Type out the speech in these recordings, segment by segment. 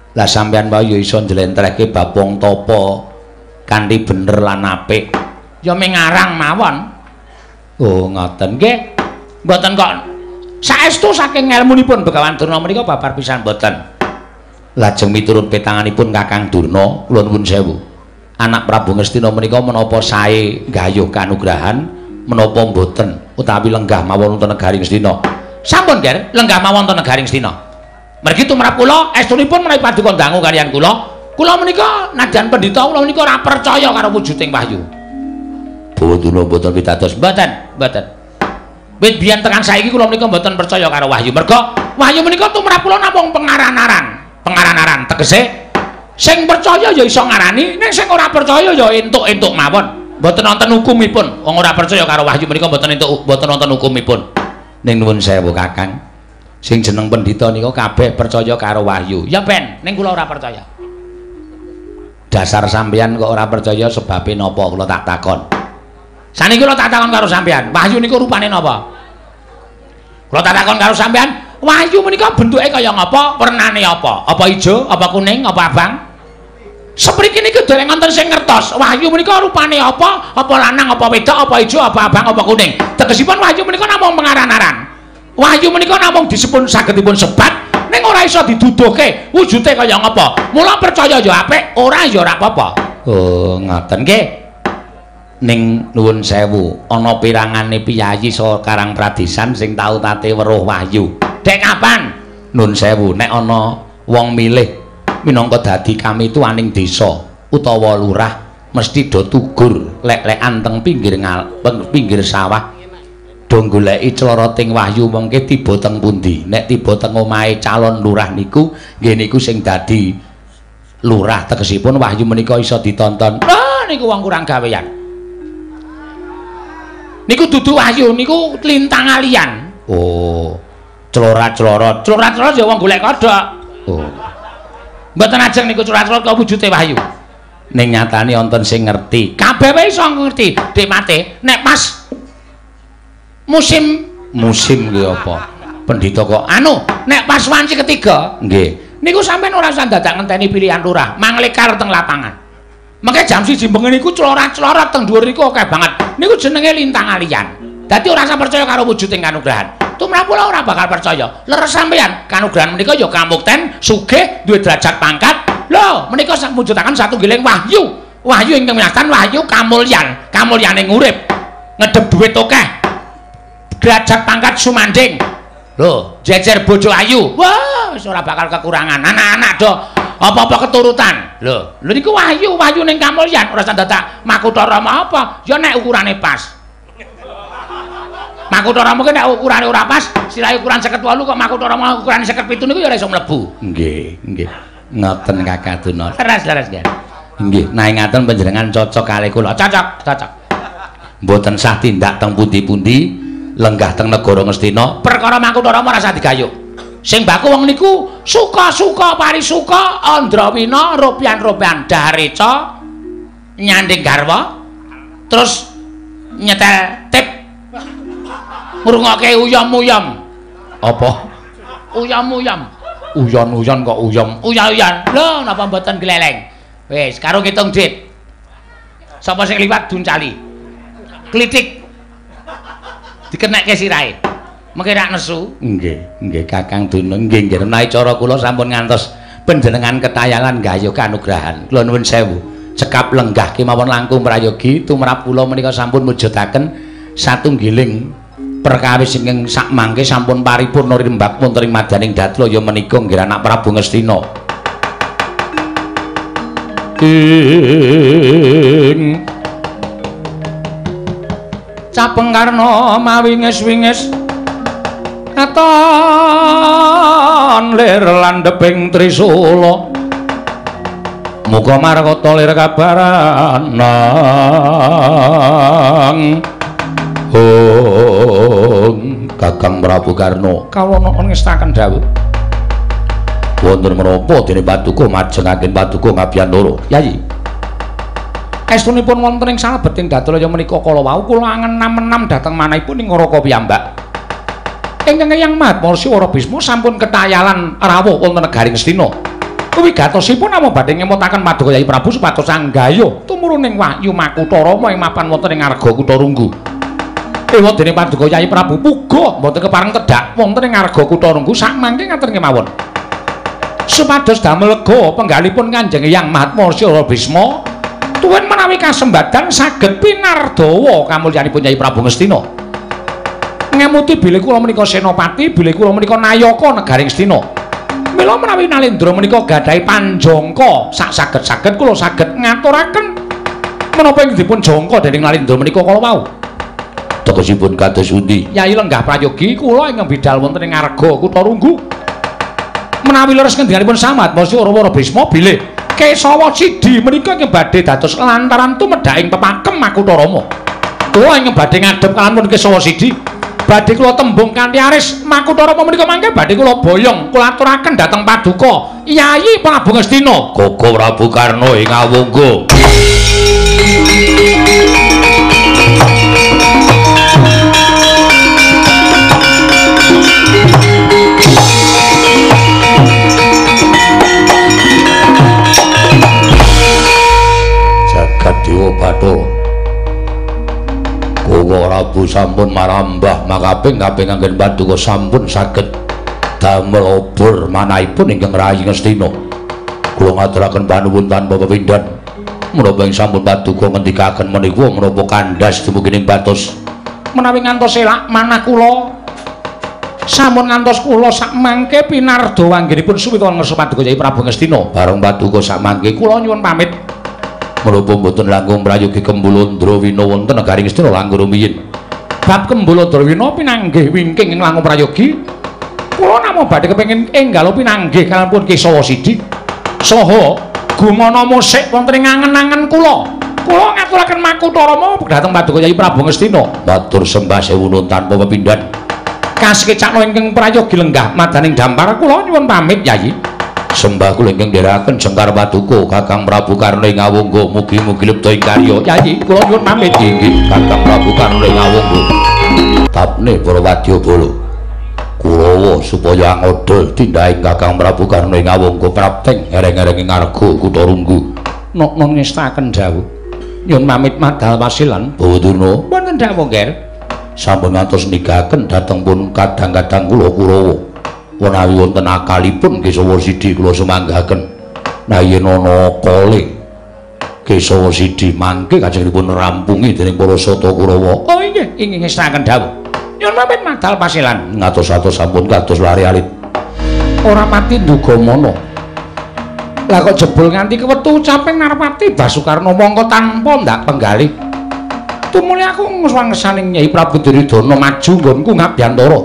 Lah sampeyan wae iso njlentrehke bab wong tapa kanthi bener lan apik. Ya mengarang mawon. Oh, ngoten nggih. Mboten kok saestu saking ngelmunipun Begawan Durna menika babar pisan mboten. Lajeng miturut petanganipun Kakang Durna, kula nuwun sewu. Anak Prabu Ngastina menika menapa sae gayuh kanugrahan menapa mboten utawi lenggah mawon wonten negari Ngastina. Sampun, Ger, lenggah mawon wonten negari Ngastina. Mergi tumrap kula estunipun menawi paduka dangu kaliyan kula. Kula menika nadyan pendhita kula menika ora percaya karo wujuding wahyu. Boten mboten pitados, mboten. Wit biyen tekan saiki kula menika mboten percaya karo wahyu. Merga wahyu menika tumrap kula namung pengaran-aran. Tegese sing percaya ya iso ngarani, ning sing ora percaya ya entuk-entuk mawon. Mboten wonten hukumipun. Wong ora percaya karo wahyu menika mboten wonten hukumipun. Ning nuwun sewu Kakang. Sing jeneng pendhita nika kabeh percaya karo wahyu. Ya ben, ning kula ora percaya. Dasar sampeyan kok ora percaya sebabe napa kula tak takon. Saniki kula tak takon karo sampeyan, wahyu niku rupane napa? Kula tak takon karo sampeyan, wahyu menika bentuke kaya ngapa? Wernane apa? Apa ijo, apa kuning, apa abang? Sepriki niku dereng wonten sing ngertos. Wahyu menika rupane apa? Apa lanang, apa wedok, apa ijo, apa abang, apa kuning? Tegesipun wahyu menika namung pengaran-aran. Wahyu menika namung disebut sagedipun sebat ning ora iso diduduhke wujude kaya ngapa. Mula percaya ya apik, ora ya ora apa-apa. Oh, ngoten nggih. Ning nuwun sewu, ana pirangane piyayi saha Karang Pradesan sing tau tate weruh wahyu. Dek kapan? Nuwun sewu, nek ana wong milih minangka dadi kamituaning desa utawa lurah mesti do tugur lek-lekan teng pinggir sawah. Do goleki cloroting wahyu mengke tiba teng pundi. Nek tiba teng omahe calon lurah niku, nggih niku sing dadi lurah tegesipun wahyu menika iso ditonton. Ah niku wong kurang gawean. Niku dudu wahyu, niku lintang alian. Oh. Clorat-clorot. Clorat-clorot ya wong golek kodhok. Oh. Mboten ajeng niku clorat-clorot kok wujude wahyu. Ning nyatane wonten sing ngerti. Kabeh wae iso ngerti. Dik mate, nek pas musim nggih apa pendhita kok nek pas wanci ketiga nggih niku sampean ora usah dadak ngenteni pilihan lurah manglekar teng lapangan mengke jam 1 bengi niku clorat-clorot teng dhuwur niku akeh banget niku jenenge lintang alian dadi ora usah percaya karo wujuding kanugrahan tumrap kula ora bakal percaya leres sampean kanugrahan menika ya kamukten sugih duwe derajat pangkat lho menika mujudaken satunggiling wahyu ingkang winastan wahyu kamulyaning urip ngedep duit akeh derajat pangkat sumanding lho jejer bojo ayu wah wis ora bakal kekurangan anak-anak do apa-apa keturutan lho niku wahyu ning kamulyan ora dadak Makutha Rama apa ya nek ukurane pas Makutha Rama ki nek ukurane ora pas sirahe ukuran 58 kok Makutha Rama ukurane 57 niku ya ora iso mlebu nggih ngoten Kakang Durna leres nggih nggih nah ngaten panjenengan cocok kalih kula cocok mboten sah tindak teng pundi-pundi lenggah teng negara Ngastina perkara Makutha Rama ora usah digayuh sing baku wong niku suka-suka parisuka andrawina rupian-rupian dahareca nyanding garwa terus nyetel tip ngrungokke uyam-uyam apa uyam-uyam uyon-uyon kok uyan lho napa mboten gleleng wis karo ngitung dit sapa sing liwat duncali klitik dikenekke sirahe. Mengke rak nesu. Nggih Kakang Durna nggih menawi cara kula sampun ngantos panjenengan ketayangan gayuh kanugrahan. Kula nuwun sewu. Cekap lenggah kemawon langkung prayogi tumrap kula menika sampun mujudaken satunggiling perkawis ingkang sak mangke sampun paripurna rimba wonten ing madyaning Datla ya menika nggih anak Prabu Ngastina. Capeng karna mawingis-wingis katon lir landheping Trisula muga markata lir kabaran nang Kakang Prabu Karna kawula ngestaken dawuh wonten menapa dene Paduka majengaken Paduka ngabiyantara Yayi estunipun wonten ing salebeting Datlaya menika kala wau kula angen-enam dhateng manahipun ing Ngaraka piyambak. Ingkang Hyang Mahatmarsya Wara Bisma sampun ketayalan rawuh wonten negari Ngastina. wigatosipun namung badhe ngemutaken Paduka Yai Prabu supados anggaya tumuruning wahyu Makutha Rama ing mapan wonten ing Arga Kutha Runggu. Ewa dening Paduka Yai Prabu puguh mboten kepareng tedhak wonten ing Arga Kutha Runggu sakmangke ngaten kemawon. Supados damel lega penggalipun Kanjeng Hyang Mahatmasya Bisma tuwin menawi kasembadan saged pinardawa kamulyanipun Yai Prabu Ngastina. Ngamuti bilih kula menika senopati, bilih kula menika nayaka negaring Ngastina. Mila menawi Nalendra menika gadhahi panjangka sak saged-saged kula saged ngaturaken menapa ing dipun jangka dening Nalendra menika kala wau. Tegesipun kados pundi? Yai lenggah prayogi kula ing bidhal wonten ing Arga Kutha Runggu. Menawi leres ngendhanipun Samat Masya Ora Bisma bilih Kesawa Sidi menika ing badhe dados lantaran tumedhaking pepakem Makutha Rama. Kula ing badhe ngadhep kalampun Kesawa Sidi. Badhe kula tembung kanthi aris Makutha Rama menika mangke badhe kula boyong kula aturaken dhateng Paduka Yai Prabu Ngastina. Koko Prabu Karna ing Awungga. Jagat Dewa Bathara Koko Prabu sampun marambah makaping-kaping anggen Paduka sampun saged damel obor manahipun ingkang rayi Ngastina. Kula ngaturaken panuwun tanpa pepindhan menapa ing sampun Paduka ngendikaken menika menapa kandhas dumugi ing batos menawi ngantos elak manah kula sampun ngantos kula sakmangke pinardawa anggenipun suwita ngersa Paduka Yai Prabu Ngastina. Bareng Paduka sakmangke kula nyuwun pamit menapa mboten langkung prayogi Kembulandra Wina wonten negaring Ngastina langkung rumiyin. Bab Kembulandra Wina pinanggih wingking ing langkung prayogi kula namung badhe kepengin enggal pinanggih kalampun Kesawa Sidi saha gumana musik wonten ing angen-angen kula. Kula ngaturaken Makutha Rama dhateng Paduka Yai Prabu Ngastina. Matur sembah sewu nuwun tanpa pepindhan. Kasekecakna ingkang prayogi lenggah madaning dampar kula nyuwun pamit Yai. Sembah kula ingkang ndherekaken Jengkar Paduka Kakang Prabu Karna ing Awungga mugi-mugi lebda ing karya. Yai kula nyuwun pamit inggih Kakang Prabu Karna ing Awungga. Tapne para wadyabala Kurawa supaya angoda tindhaing Kakang Prabu Karna ing Awungga prapting ereng-ereng ing Arga Kutha Runggu. Nok-nok ngestaken dawuh. Nyuwun pamit madal wasilan Bawadurna. Mboten dawuh nggih. Sampun ngantos nigahaken dhateng pun kadang-kadang kula Kurawa. Menawi wonten akalipun Kesawa Sidi kula sumanggahaken. Nah yen ana kale Kesawa Sidi mangke kajengipun rampungi dening para sata Kurawa. Oh inggih, inggih ngestaken dawuh. Nyuwun pamit madal pasilan. Ngatos-atos sampun kados lari-alit. Ora pati ndugamana. Lah kok jebul nganti kewetu caping Narpati Basukarna mongko tanpa ndak penggalih. Tumuli aku ngeswangesaning Nyai Prabu Duryudana maju nggonku ngabyantara.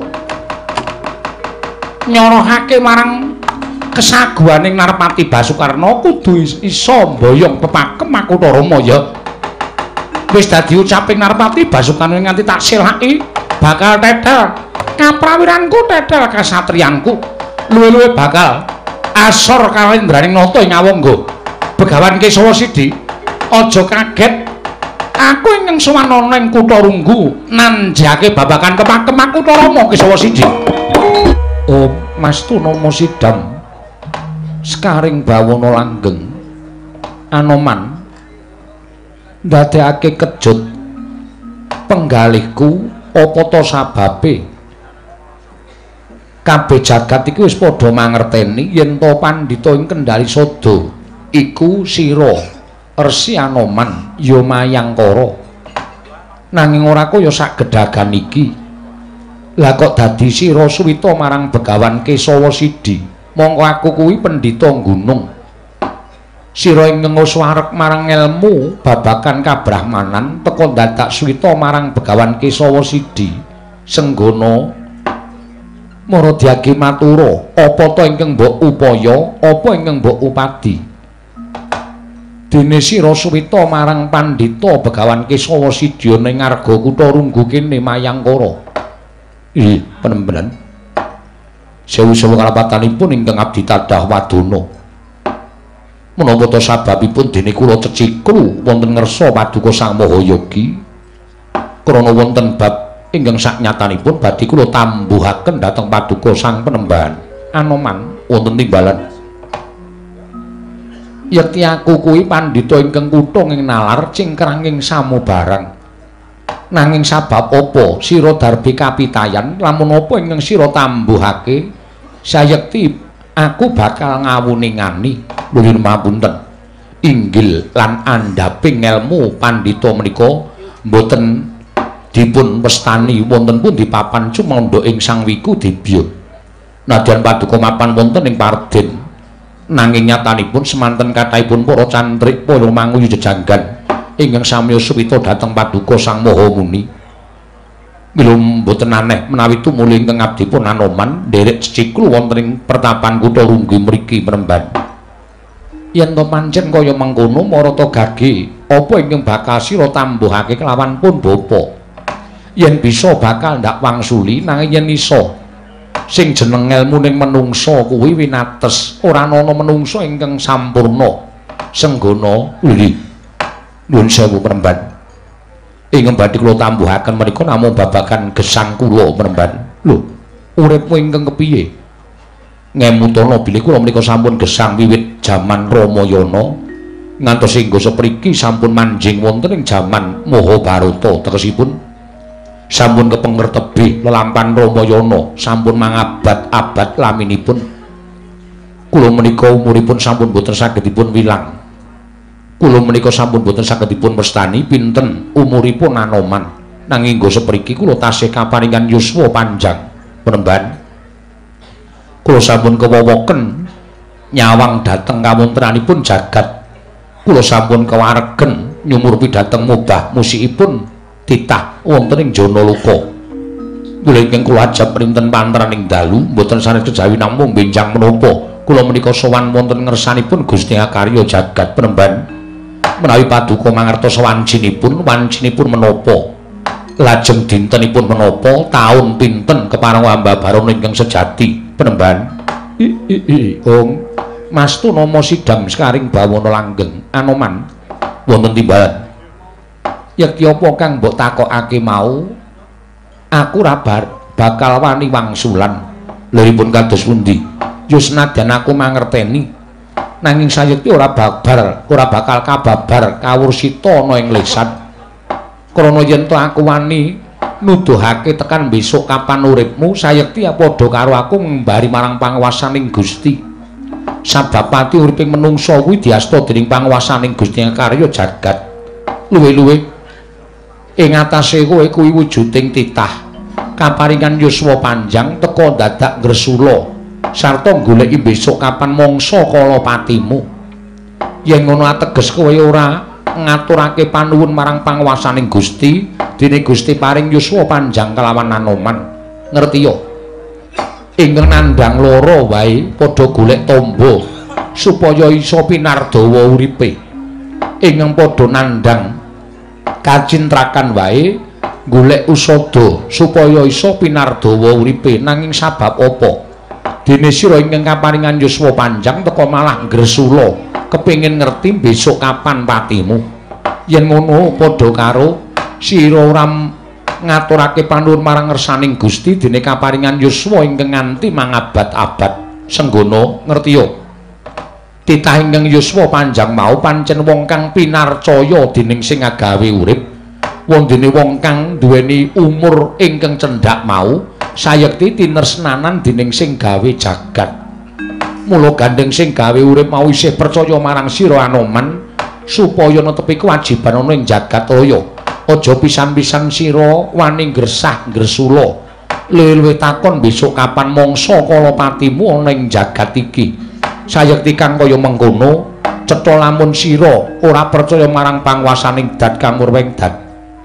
Nyorohake marang kesaguhaning Narpati Basukarna kudu isa mboyong pepakem Makutha Rama ya. Wis dadi ucaping Narpati Basukarna nganti tak silaki bakal tetel kaprawiranku tetel kasatriyanku luwih-luwih bakal asor kalendraning nata ing Awangga. Begawan Kesawa Sidi aja kaget aku ingkang sowan ana ing Kutha Runggu nanjake babagan kepakem Makutha Rama Kesawa Sidi. Oh Mas Tunama Sidam sekaring bawana langgeng Anoman ndadekake kejut penggalihku apa ta sababe kabeh jagat iki wis padha mangerteni yen to pandhita ing Kendari Sada iku sira Resi Anoman ya Mayangkara nanging ora kaya sak gedhagan iki. Lah kok dadi sira suwita marang Begawan Kesawa Sidi mongko aku kuwi pendhita gunung. Sira ingkang wareg marang ilmu babagan kabrahmanan teka dadak suwita marang Begawan Kesawa Sidi senggana Maradyagi matura apa ta ingkang mbok upaya apa ingkang mbok upadi. Dene sira suwita marang pandhita Begawan Kesawa Sidi ning Arga Kutha Runggu kene Mayangkara. Ih, penembenan. Sewu-sewu kalapatanipun ingkang abdi tadah wadana. Menapa ta sababipun dene kula ceciklu wonten ngersa Paduka Sang Mahayogi? Krana wonten bab ingkang saknyatanipun badhe kula tambuhaken dhateng Paduka Sang Penembahan Anoman wonten timbalan. Yekti aku kuwi pandhita ingkang kuthung ing nalar cingkranging samubarang. Nanging sabab apa sira darbi kapitayan lamun apa ingkang sira tambuhake sayekti aku bakal ngawuningani nuwun mapunten inggil lan andhaping ilmu pandhita menika mboten dipun westani wonten pundi papan cumandha ing Sang Wiku Dibya nadyan paduka mapan wonten ing Parden nanging nyatanipun semanten kathahipun para cantrik para manguyu jejanggan ingkang samya suwita dhateng paduka Sang Maha Muni. Mila mboten aneh menawi tumuli ingkang abdipun Anoman nderek ciciklu wonten ing pertapan kutha Lunggi mriki Mremban. Yen to pancen kaya mengkono marata gage apa ingkang bakal sira tambuhake kelawan pun bapa. Yen bisa bakal ndak wangsuli nanging yen isa sing jeneng ilmuning menungsa kuwi winates ora ana menungsa ingkang sampurna senggana uli. Nuwun sewu Mremban. Ingkang badhe kula tambuhaken menika namung babagan gesang kula Mremban. Lho, uripmu ingkang kepiye? Ngemutana bilih kula menika sampun gesang wiwit jaman Ramayana ngantos hingga sapriki sampun manjing wonten ing jaman Mahabharata tegesipun sampun kepengker tebih lelampahan Ramayana sampun mangabad-abad laminipun. Kula menika umuripun sampun boten saged dipun wilang. Kula menika sampun boten saged dipun wastani pinten umuripun Anoman nanging nggo sapriki kula tasih kaparingan yuswa panjang Mremban. Kula sampun kewowoken nyawang dhateng kawontranipun jagat. Kula sampun kewaregen nyumurupi dhateng mubah musikipun titah wonten ing Janaloka. Kula ingkang kula ajab printen panteraning dalu mboten sanes kejawi namung benjang menapa kula menika sowan wonten ngersanipun Gusti Akarya jagat Mremban. Menawi paduka mangertos wancinipun menapa lajeng dintenipun menapa taun pinten kepareng ambabarana ingkang sejati Mremban. Ong mastu nama sidam sekaring bawana langgeng Anoman wonten timbalan. Yekti apa kang mbok takokake mau aku ra bakal wani wangsulan liripun kados pundi ya senadyan aku mangerteni nanging sayekti ora bakal kababar kawursita ana ing lisan krana yen to aku wani nuduhake tekan besok kapan uripmu sayekti padha karo aku ngembari marang panguwasaning Gusti sabab pati uriping menungsa kuwi diasta dening panguwasaning Gusti Karya jagat luwih-luwih ing atase kowe kuwi wujuding titah kaparingan yuswa panjang teka dadak gresula sarta goleki besok kapan mangsa kala patimu. Yen ngono ateges kowe ora ngaturake panuwun marang panguwasaning Gusti, dene Gusti paring yuswa panjang kelawan Anoman. Ngerti ya? Ingkang nandhang lara wae padha golek tamba supaya isa pinardawa uripe. Ingkang padha nandhang kacintrakan wae golek usada supaya isa pinardawa uripe nanging sabab apa? Dene sira ingkang kaparingan yuswa panjang teka malah gresula kepengin ngerti besok kapan patimu. Yen ngono padha karo sira ora ngaturake panuwun marang ngersaning Gusti dene kaparingan yuswa ingkang nganti mangabad-abad senggana ngerti ya. Titah ingkang yuswa panjang mau pancen wong kang pinarcaya dening sing agawe urip. Wong dene wong kang duweni umur ingkang cendhak mau sayekti tinresnanan dening sing gawe jagat. Mula gandeng sing gawe urip mau isih percaya marang sira Anoman supaya netepi kewajiban ana ing jagat raya. Aja pisan-pisan sira wani gresah gresula. Luwih takon besok kapan mangsa kala patimu ana ing jagat iki. Sayekti kang kaya mengkono cetha lamun sira ora percaya marang panguwasaning dat kamurweng dat.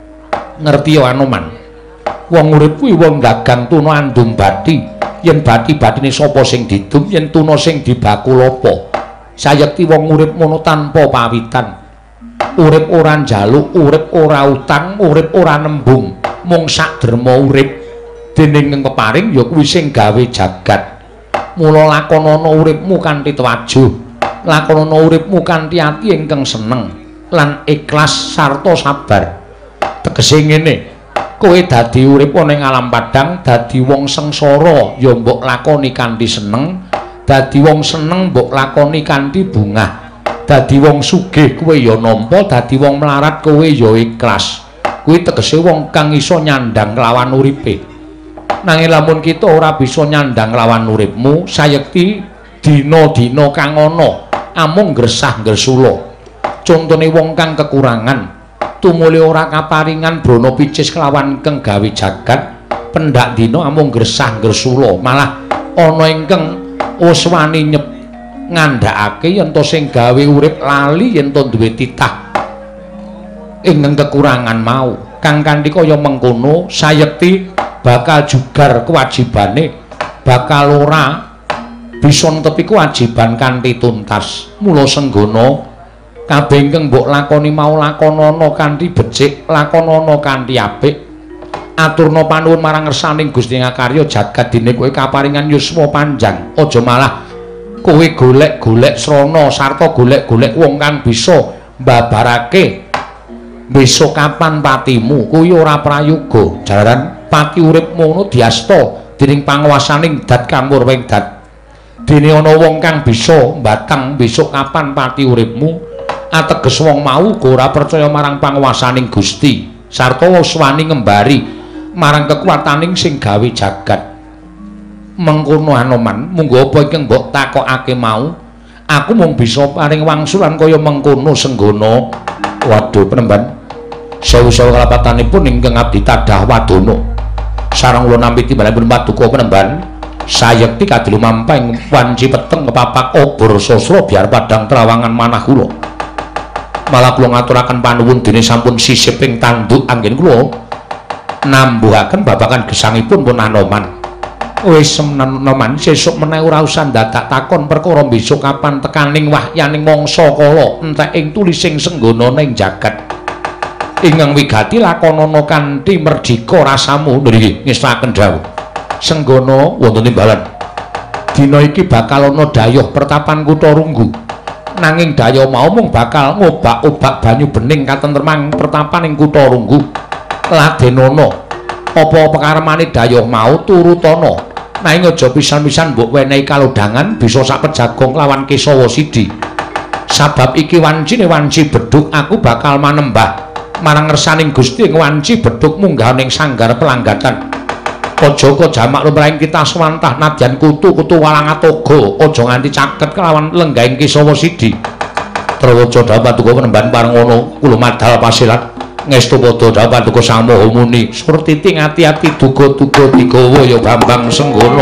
Ngerti ya Anoman? Wong urip kuwi wong dagang tuna andum bathi. Yen bathi-bathine sapa sing didum, yen tuna sing dibakul apa. Sayekti wong urip mono tanpa pawitan. Urip ora njaluk, urip ora utang, urip ora nembung, mung sak derma urip. Dening ing keparing ya kuwi sing gawe jagat. Mula lakonana uripmu kanthi tuwajuh. Lakonana uripmu kanthi ati ingkang seneng lan ikhlas sarta sabar. Tegese ngene. Kowe dadi urip ana ing alam padang, dadi wong sengsara ya mbok lakoni kanthi seneng, dadi wong seneng mbok lakoni kanthi bungah, dadi wong sugih kowe ya nampa, dadi wong melarat kowe ya ikhlas. Kuwi tegese wong kang iso nyandang lawan uripe. Nanging lamun kita ora bisa nyandang lawan uripmu, sayekti dina-dina kang ana amung gresah gresula. Contone wong kang kekurangan, tumuli ora kaparingan brana picis kelawan kang gawe jagat, pendak dina amung gresah gresula, malah ana ingkang wis wani ngandhakake yen to sing gawe urip lali yen to duwe titah ingkang kekurangan mau. Kang kanthi kaya mengkono sayekti bakal jugar kewajibane, bakal ora bisa netepi kewajiban kanthi tuntas. Mula senggana kabeh ingkang mbok lakoni mau lakonana kanthi becik, lakonana kanthi apik. Aturna panuwun marang ngersaning Gusti Ngakarya jagat dene kowe kaparingan yuswa panjang. Aja malah kowe golek-golek srana sarta golek-golek wong kang bisa mbabarake besok kapan patimu. Kuwi ora prayoga. Jalaran pati uripmu ngono diasta dening panguwasaning dat kamurwing dat. Dene ana wong kang bisa mbatang besok kapan pati uripmu, ateges wong mau uga ora percaya marang panguwasaning Gusti sarta wis wani ngembari marang kekuwataning sing gawe jagat. Mengkono Anoman, munggo apa iki mbok takokake mau, aku mung bisa paring wangsulan kaya mengkono Senggana. Waduh penemban, sewu-sewu kalapatanipun ingkang abdi tadah wadana. Sareng kula nampi timbalanipun paduka penemban, sayekti kadhe lumampah wanci peteng kepapak obor sasra biar padang trawangan manah kula. Malah kula ngaturaken panuwun dene sampun sisiping tanduk anggen kula nambuhaken babagan gesangipun pun Anoman. Wis Anoman, sesuk meneh ora usah dadak takon perkara besok kapan tekaning wahyaning mangsa kala entek ing tulising Senggana ning jagat. Ingkang wigati lakonana kanthi merdika rasamu. Nggih, ngestaken dawuh. Senggana wonten timbalan. Dina iki bakal ana dayuh pertapan Kutha Runggu. Nanging dayuh mau mung bakal ngobak-obak banyu bening katentremang pertapan ing Kutha Runggu. Ladenana apa pekaremane dayuh mau turutana. Nanging aja pisan-pisan mbok wenehi kalodhangan bisa sak pejagong lawan Kesawa Sidi. Sabab iki wancine wanci bedhug, aku bakal manembah marang ngersaning Gusti ing wanci bedhug munggah ning sanggar pelanggatan. Aja kok jamak lumrahing kita swantah nadyan kutu-kutu Walangatoga, aja nganti caket kelawan lenggahing Kesawa Sidi. Trawaca dawuh paduka penemban pareng ngono kula madhal pasilat. Ngestu padha dawuh paduka Sang Maha Muni, Surtiti ngati-ati duga-duga digawa ya Bambang Senggana.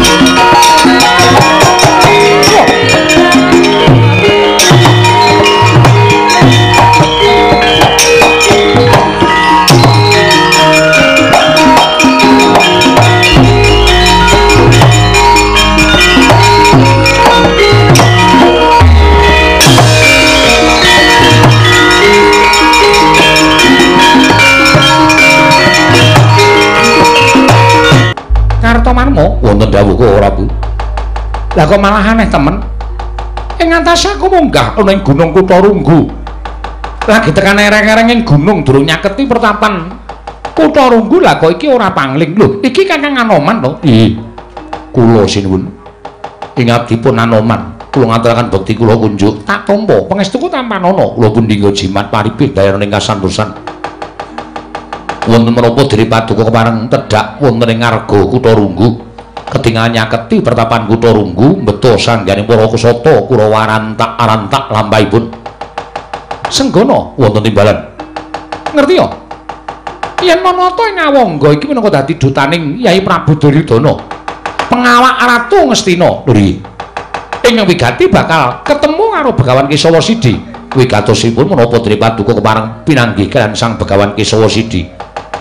Kartomanmo wonten dawuh kok ora Bu. Lah kok malah aneh temen. Ing antase aku munggah ana ing Gunung Kutha Runggu. Lagi tekan ereng-ereng ing gunung durung nyaketi pertapan Kutha Runggu. Lah kok iki ora pangling lho. Iki Kakang Anoman to? Nggih. Kula sinuwun. Ing abdipun Anoman, kula ngaturaken bekti kula kunjuk. Tak tampa pangestuku tampanana. Kula pun dinggo jimat paribih daeraning kasantosan. Wonten menapa diri paduka kepareng tedhak wonten ing ngarga Kutha Runggu. Ketingal nyaketi pertapan Kutha Runggu mbeta sangganing para kusata Kurawarantak-arantak lampahipun. Senggana wonten timbalan. Ngerti ya? Yen manata ing Awangga iki minangka dadi dutaning Yai Prabu Duryudana, pengawak Ratu Ngastina. Lho nggih. Ing wigati bakal ketemu karo Begawan Kesawa Sidi. Wigatosipun menapa diri paduka kepareng pinanggih kaliyan Sang Begawan Kesawa Sidi.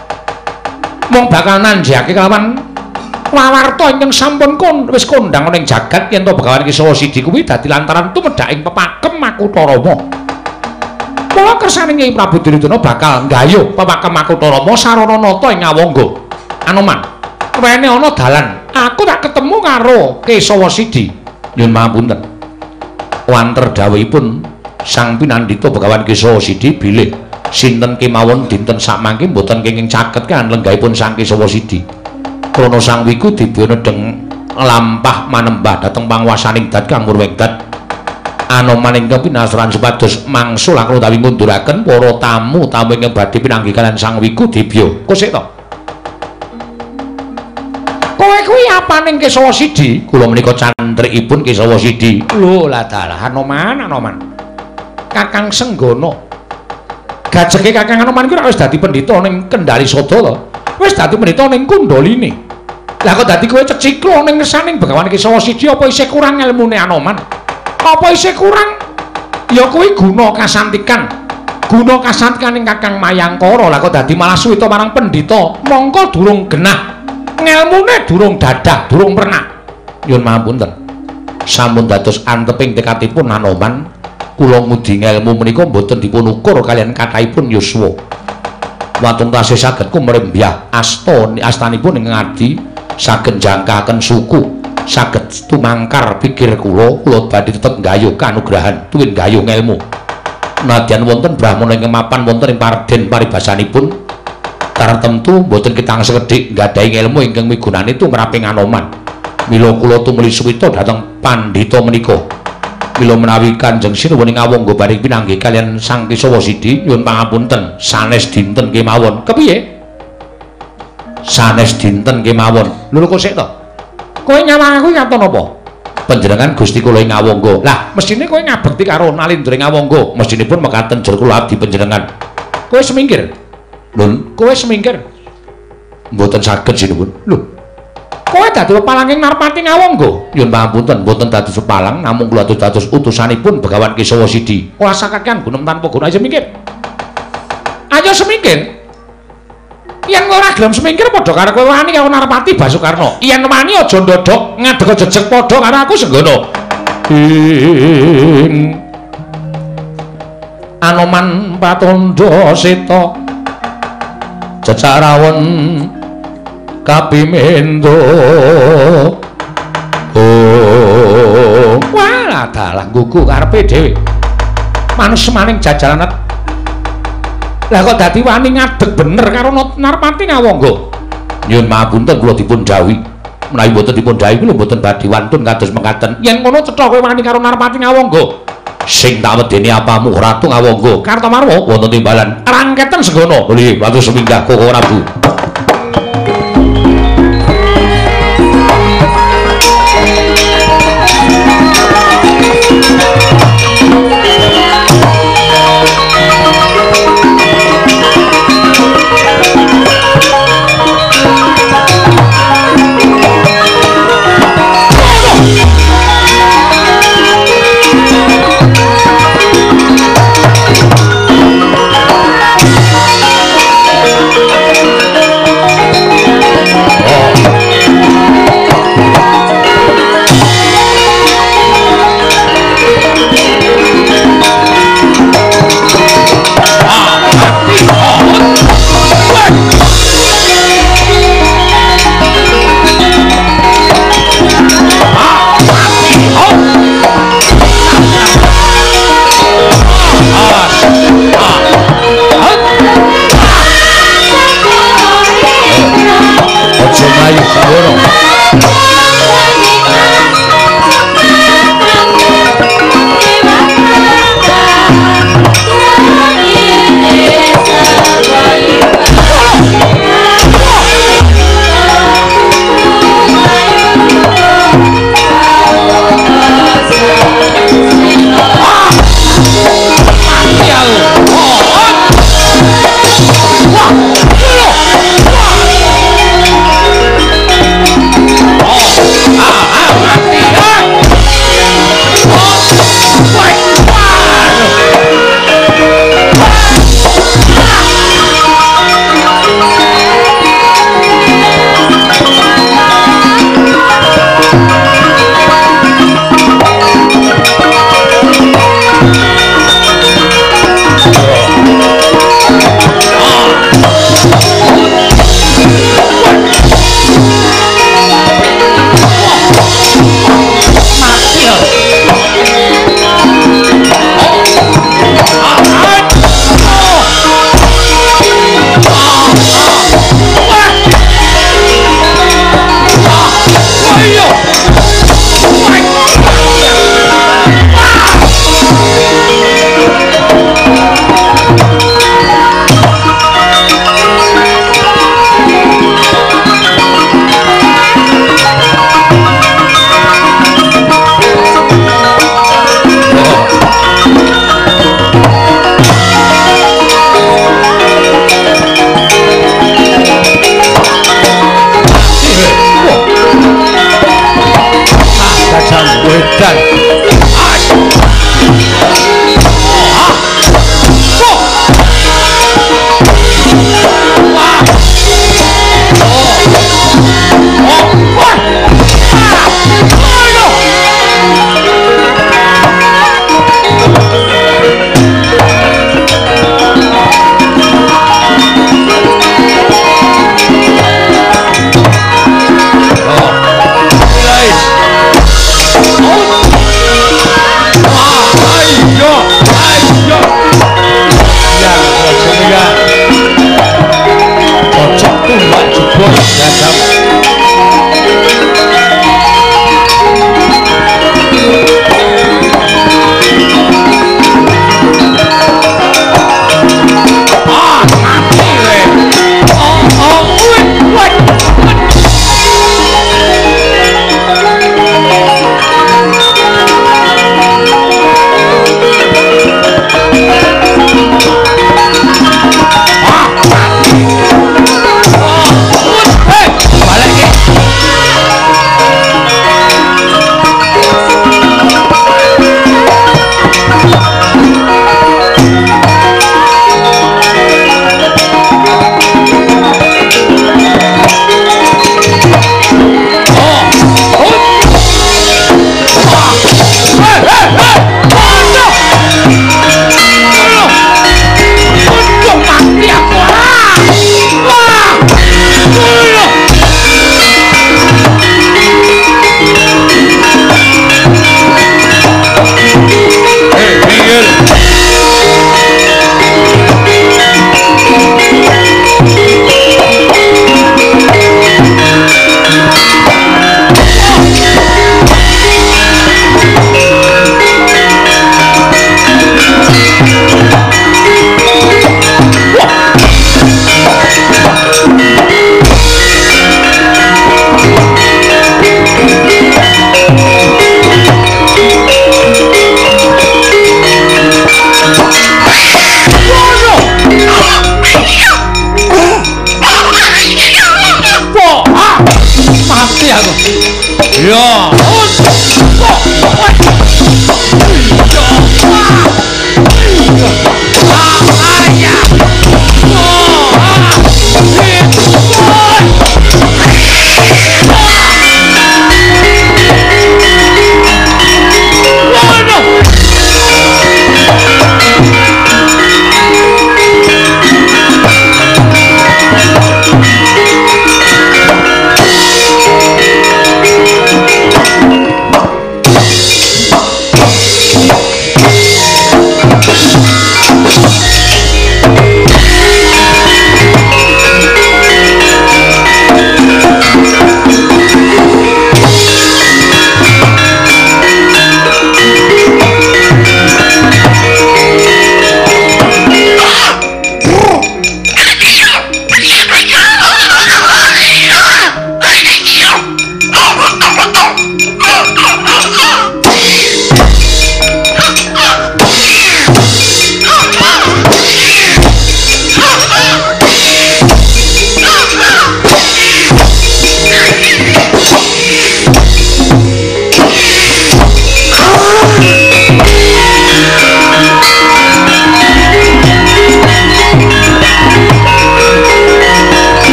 Mung bakal nanjake kelawan wawarta ingkang sampun wis kondhang ning jagat yen to Begawan Kesawa Sidi kuwi dadi lantaran tumedhak ing pepakem Makutarama. Mula kersaning Kyai Prabu Duryudana bakal nggayuh pepakem Makutarama sarana nata ing Awangga. Anoman, wene ana dalan aku tak ketemu karo Kesawa Sidi. Nyuwun pangapunten. Wanter dawuhipun Sang Pinandhita Begawan Kesawa Sidi bilih sinten kemawon dinten sakmangke mboten kenging caket kan lenggahipun Sang Kesawa Sidi. Krana sang wiku dibuna deng lampah manembah dhateng panguwasaning dat Kang Murwengdat. Anoman ingkang pinasaran supados mangsul langkung utawi ngunduraken para tamu ingkang badhe pinanggih kalian Sang Wiku Dibya. Kosek to. Kowe kuwi apaning Kesawa Sidi? Kula menika cantrikipun Kesawa Sidi. Lho lah dalah Anoman. Kakang Senggana. Gajeke Kakang Anoman kuwi ora wis dadi pendhita ning Kendari Sada to. Wis dadi pendhita ning Kundaline. Lah kok dadi kowe ceciklo ning ngersaning Begawan Kesawa Sidi apa isih kurang ilmune Anoman? Apa isih kurang? Ya kuwi guna kasantikan. Guna kasantikaning Kakang Mayangkara. Lah kok dadi malah suwita marang pendhita. Mongko durung genah. Ngelmune durung dadah, durung pernah. Nyuwun pangapunten. Sampun dados anteping tekadipun Anoman. Kula ngudi ngelmu menika mboten dipun ukur kalian kathahipun yuswa. Watun tasih saged kumrembyah astanipun ing ngadi saged jangkaken suku. Saged tumangkar pikir kula badhe tetep nggayuh kanugrahan tuwin nggayuh ngelmu. Nadyan wonten brahmana ingkang mapan wonten ing Parden paribasanipun tartemtu boten kitang sekedhik nggadahi ngelmu ingkang migunani tumraping Anoman. Mila kula tumuli suwita dhateng pandhita menika. Mila menawi Kanjeng Sinuwuning Awangga badhe pinanggih kalian Sang Kesawa Sidi nyuwun pangapunten sanes dinten kemawon. Kepiye? Sanes dinten kemawon. Lho kok sik to? Kowe nyawang aku ngaton apa? Panjenengan Gusti kula ing Awangga. Lah, mestine kowe ngabekti karo nalindring Awangga. Mestinipun mekaten jero kula abdi panjenengan. Kowe semingkir. Lho, kowe semingkir. Mboten saged sinuwun. Lho. Kowe dadi pepalanging Narpati Awangga. Nyuwun pangapunten, mboten dados pepalang, namung kula dados utusanipun Begawan Kesawa Sidi. Ora sakakean gunem tanpa guna aja mikir. Ayo semingkir. Yen kowe ora gelem semingkir padha karo kowe wani karo Narpati Basukarna. Yen wani aja ndodok ngadeg jejeg padha karo aku Senggana. Anoman Patandha Seta Cecarawon Kapimendo. Oh, wah dalah gugu karepe dhewe. Manus maning jajalan. Lah kok dadi wani ngadeg bener karo Narpati Awangga. Nyuwun pangapunten kula dipun dawuhi. Menawi mboten dipun dawuhi kula mboten badhe wantun kados mekaten. Yen ngono cetha kowe wani karo Narpati Awangga. Sing tak wedeni apamu Ratu Awangga. Kartamarwa wonten timbalan rangketen Senggana. Nggih, matur seminggah Koko Prabu.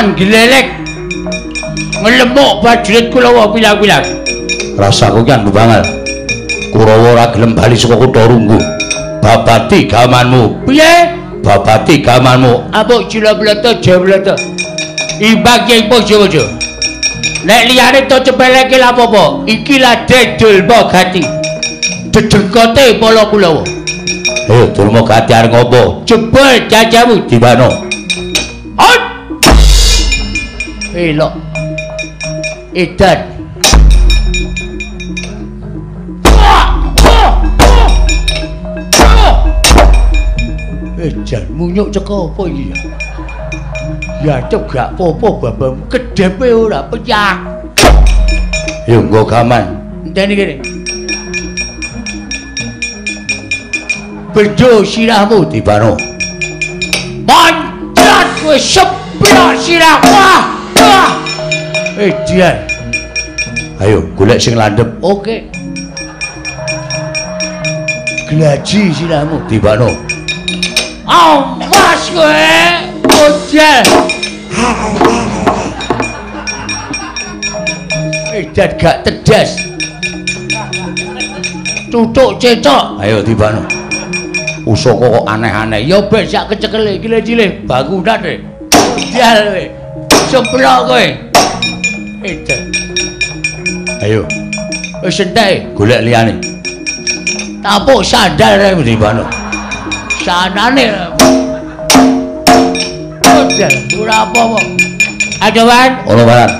Paman glelek ngelemuk prajurit Kurawa pilang-pilang. Rasaku kan banget. Kurawa ora gelem bali saka kutha Runggu. Babati gamanmu. Piye? Babati gamanmu. Apa Julablata Jawlata? Imbang Kyai Pojowojo. Nek liyane to cepeleke lha apa? Iki lah dedul Mogati. Dedengkote Pala Kulawa. Ayo Durma Gati arep ngopo? Jebul jajamu di mana? Hot! Elok. Edan. Edan munyuk ceko apa iki ya? Ya cep gak apa-apa babam kedepe ora pecah. Yo nggo gaman. Enteni kene. Bedo sirahmu dibano. Pancet wis seplok sirah. Wah. Wah. Dian. Ayo golek sing landhep. Oke. Glaji sirahmu dibano. Awas kowe. Ojel. Edan gak tedas. Tutuk cecok. Ayo dibano. Usaka kok aneh-aneh. Ya ben sak kecekele iki cilik bangunan e. Ojel kowe. Seplok kowe. Edan. Ayo. Wis entek golek liyane. Tapuk sandal rek dibano. Sanane. Ojel, ora apa-apa. Ayo, Wan. Ono barat.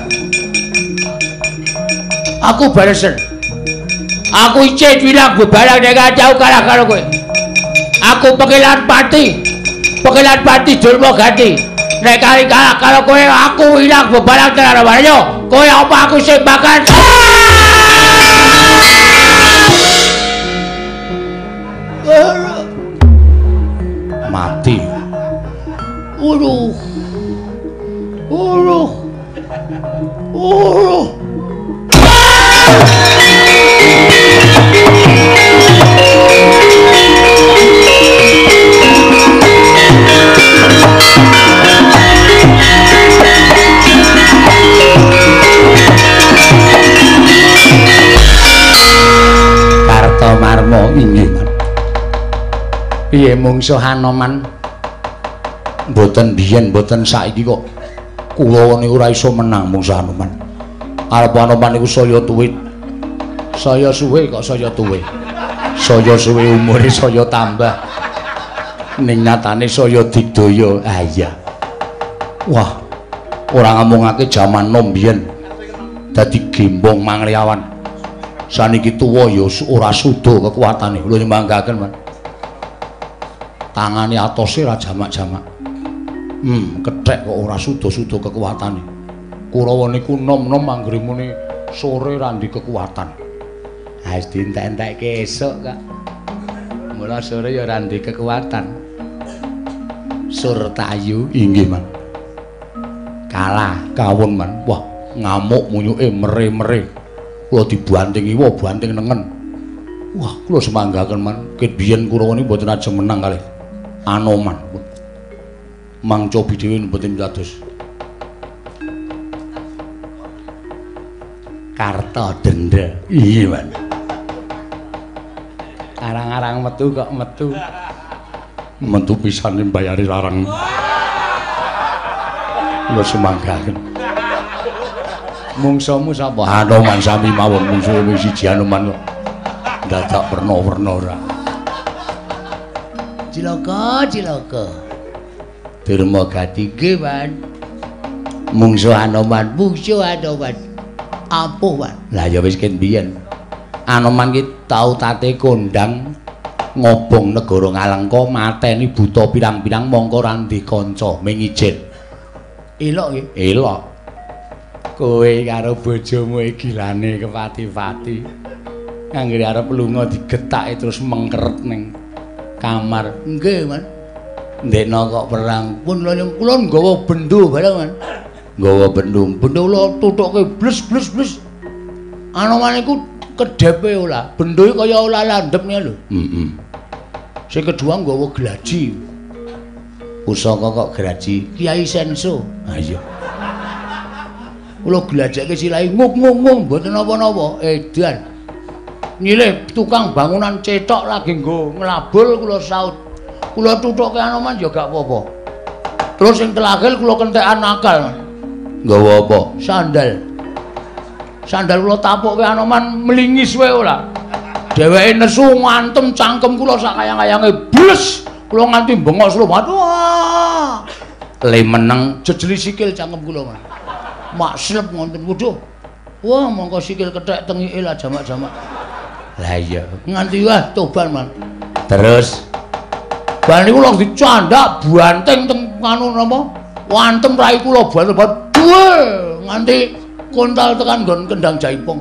Aku baresen. Aku icih bilang bebalang nek kacau kalah karo kowe. Aku Pekilan Pati. Pekilan Pati Durma Gati. Nek kali kalah karo kowe aku ilang bebalang tenan ayo. Kowe apa aku sing bakal mati. Uruh. Kartomarma inggih, Man. Piye mungsuh Anoman? Mboten biyen, mboten saiki kok. Kula niku ora iso menang mungsuh Anoman. Arep Anoman niku saya tuwit. Saya suwe kok saya tuwe. Saya suwe umure saya tambah. Ning nyatane saya digdaya. Ah iya. Wah, ora ngomongake jaman nom biyen. Dadi gembong mangliawan. Saniki tuwa ya ora suda kekuatane. Lho nyembanggaken, Man. Tangane atose ra jamak-jamak. Kethek kok ora suda-suda kekuatane. Kurawa niku nom-nom anggere muni sore ra ndek kekuatan. Ha wis dientek-entekke esuk, Kak. Mula sore ya ora ndek kekuatan. Surtayu inggih, Man. Kalah kawon, Man. Wah, ngamuk munyuke mere-mere. Kula dibanting iwa, banting nengen. Wah, kula semanggaken, Man. Ket biyen Kurawa niku mboten ajeng menang kalih Anoman. Mang Cobi dhewe mboten dados. Karta denda. Iya, Man. Arang-arang metu kok metu. Metu pisan mbayari larang. Lho semanggaken. Mungsuhmu sapa? Anoman sami mawon mungsuhe wis siji Anoman kok. Dadak werna-werna ora. Cilaka. Durma Gati nggih, Man. Mungsuh Anoman. Apa, Man? Lah ya wis ken biyen. Anoman ki tau tate kondang ngobong negara Ngalengka mateni buta pirang-pirang mongko ra ndek kanca ming ijen. Elok nggih? Elok. Kowe karo bojomu iki gilane kepati-pati. Anggere arep lunga digetake terus mengkeret ning kamar. Nggih, Man. Ndekno kok perang pun kula nggawa bendho bareng, Man. Nggawa bendho. Bendho kula tutuke bles. Anoman iku kedepe ora. Bendho iki kaya ora landhep nih lho. Sing kedua nggawa glaji. Pusaka kok glaji Kiai Senso. Ha iya. Kula glajake silahe nguk mboten napa-napa. Edan. Nyilih tukang bangunan cetok lagi nggo nglabul kula saut. Kula tuthuke Anoman ya gak apa-apa. Terus sing terakhir kula kentekan akal. Nggawa apa? Sandal. Sandal kula tapukke Anoman mlingis wae ora. Dheweke nesu ngantem cangkem kula sak kayang-kayange bles. Kula nganti bengok slomat. Wah. Le meneng jejeli sikil cangkem kula, Mas. Mak slep ngonten waduh. Wah, mongko sikil kethek tengike lah jamak-jamak. Lah iya, nganti wah toban, Man. Terus bar niku lho dicandak banteng teng anu napa? Wantem rai kula banget nganti kontal tekan nggon kendang jaipong.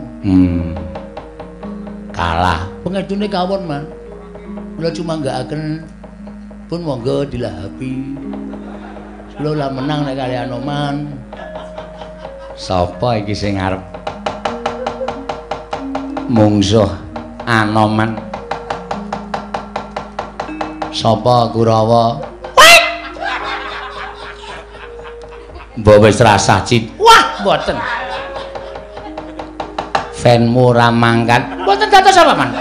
Kalah. Pengedune kawon, Man. Kula cuma nggakaken pun monggo dilahapi. Kula lah menang nek kali Anoman. Sapa iki sing arep mungsuh Anoman? Sapa Kurawa? Mbok wis rasah cit. Wah, mboten. Fanmu ora mangkat. Mboten dados apa, Man?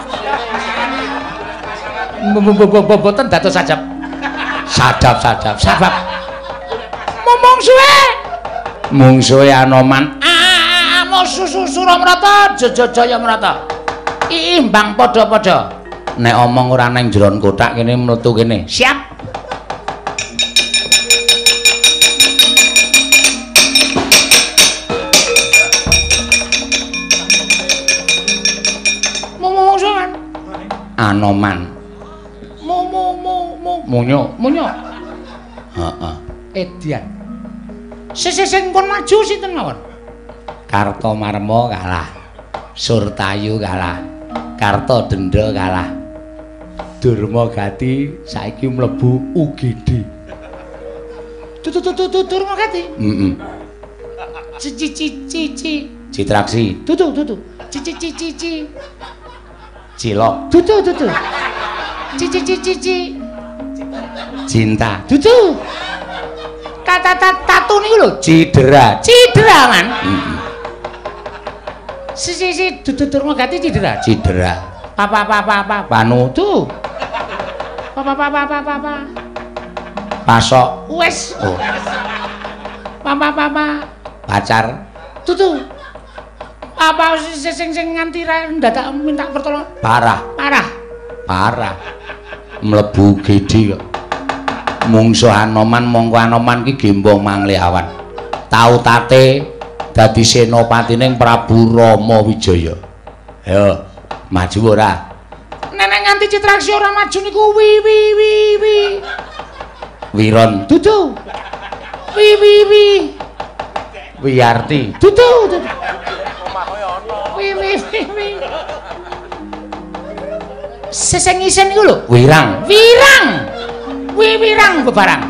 Mboten dados sajab. Sadap. Sabab. Momong suwe. Mungsuhe Anoman. Suramrata, Jayamrata. Imbang padha-padha. Nek omong ora nang jeron kotak kene mlebu kene. Siap. Momong Anoman. Munyo. Heeh. Edian. Sing pun maju sinten mawon? Kartomarma kalah. Surtayu kalah. Kartodendra kalah. Durmagati saiki mlebu UGD. Durmagati? Heeh. Cici. Citraksi. Tutu. Cici. Cilok. Tutu. Cici. Cinta. Tutu. Kata tatu niku lho, Cidera, Man. Si Durmagati Cidera. Papa. Panu tuh. Papa. Pasok. Wes. Oh. Papa. Pacar. Tutu. Apa sing nganti ndadak minta pertolongan? Parah. Mlebu gede kok. Mungsuh Anoman mongko Anoman ki gembong mangliawan. Tau tate dadi senopatining Prabu Rama Wijaya. Ayo, maju ora? Nenek nganti Citraksi ora maju niku wi. Wiron. Dudu. Wi. Wiyarti. Dudu. Wi. Seseng isen niku lho. Wirang. Wirang bebarang.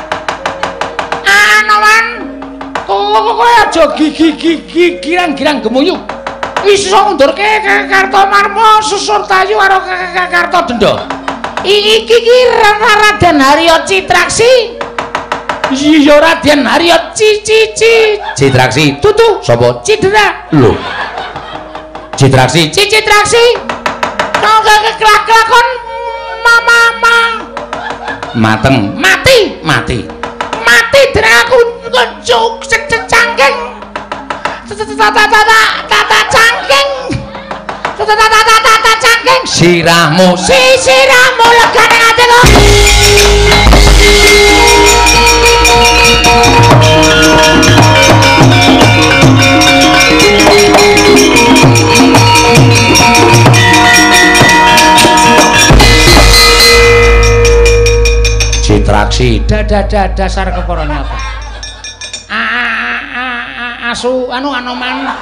Anoman, kowe aja girang-girang gemuyu. Iso ngundurke Kartomarma Susurtayu karo Kartodendra. Iki Raden Harya Citraksi. Iya Raden Harya Citraksi. Tutu sapa? Cidera. Lho. Citraksi. Kau kelakon mama. Mateng. Mati dereng aku ngecuk cangking. Tata cangking. Sirahmu legane atiku. Citraksi dasar keporone apa? Asu Anoman.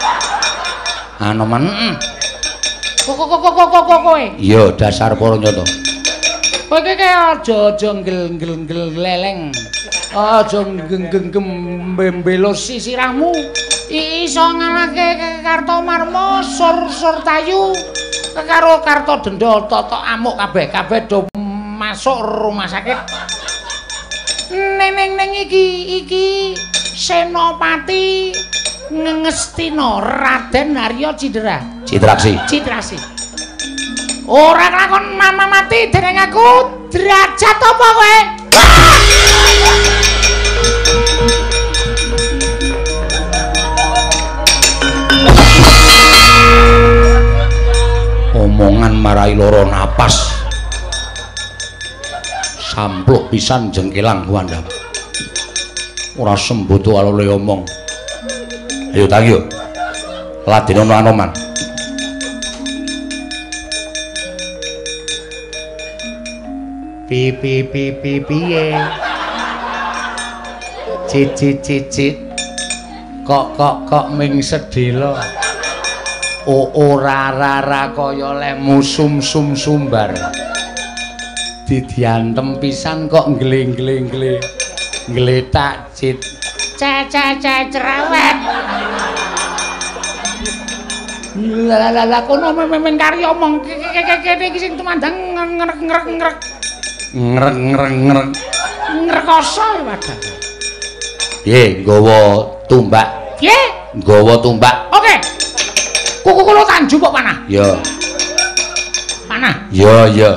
Kowe. Iya, dasar para nyata. Kowe iki aja nggel leleng. Aja genggem mbelo sisirahmu. Iso ngalahke Kartomarma Surtayu karo Kartodendra Toto amuk kabeh do masuk rumah sakit. Neng iki senopati Ngestina Raden Arya Cidra. Cidraksi. Ora kelakon mama mati dening aku derajat apa kowe? Omongan marai loro napas. Sampluk pisan jengkelang kuandam. Ora sembodo alole omong. Ayo tangi yo. Ladin ono Anoman. Piye. Cicit. Kok ming sedhela. Ora kaya lemu sum sumbar. Didiantem pisan kok ngleng-ngleng ngletak cit. Cerewet. Lah kono men kari omong kene iki sing tumandang ngrek. Ngrekoso padha. Piye nggawa tumbak? Oke. Kuku kula tanju kok panah. Ya. Panah. Ya.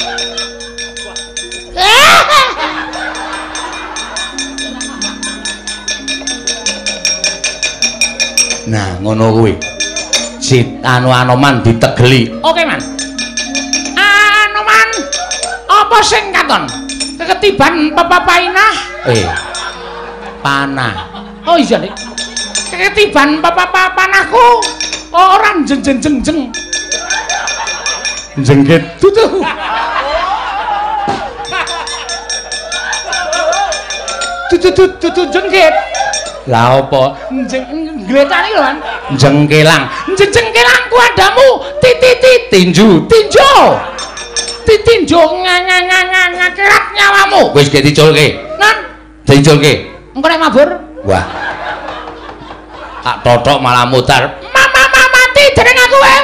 Nah, ngono kuwi. Anoman ditegeli. Oke, Man. Anoman. Apa sing katon? Keketiban papainah? Panah. Oh iya, Dik. Keketiban panahku ora jeng. Jengket tutu. Tutu jengket. Lah apa? Gletane lho, Man. Jengkelang. Jengkelang kuadamu. Tinju. Titinjo ngakerat nyawamu. Wis ge diculke. Nan, Diculke. engko nek mabur. Wah. Tak totok malah mutar. Mama mati dening aku wae.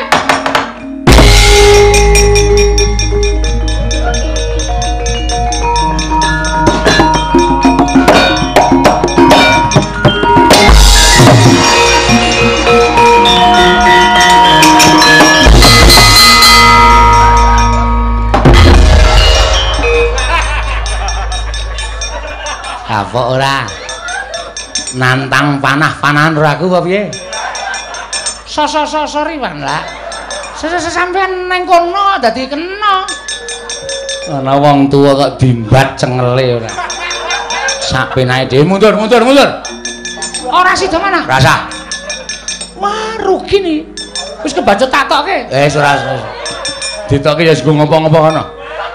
Apa ora? Nantang panah-panahan ora aku apa piye? Sorry, Wan, lah. Sampeyan nang kono dadi kena. Ana wong tuwa kok dimbat cengele ora. Sak penae dhewe mundur. Ora sida mana? Rasa. Wah, rugi nih. Wis kebacut tak tokke. Ora. Ditokke ya sing ngopo-ngopo kono.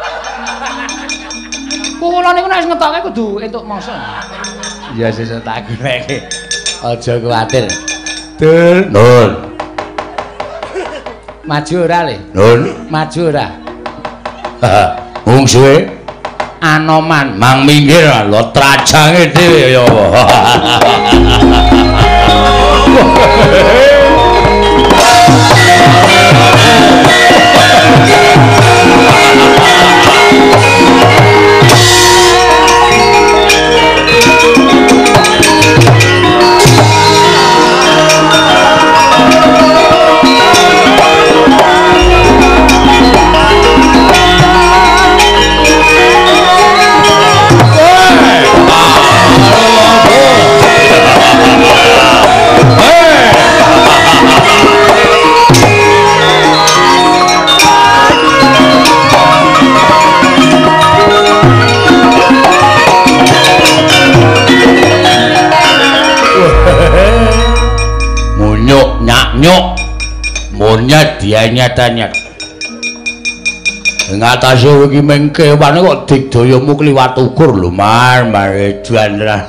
Kula niku nek ngetokke kudu entuk mangsa. Ya sesuk tak goleke. Aja kuwatir. Nun. Maju ora, Le? Nun, Maju ora? Wong suwe Anoman mang minggir lho trajange dhewe ya apa. Monyet dia nyat-nyat. Ngatasi iki mengke wane kok digdayamu kliwat ukur lho, mare jandra.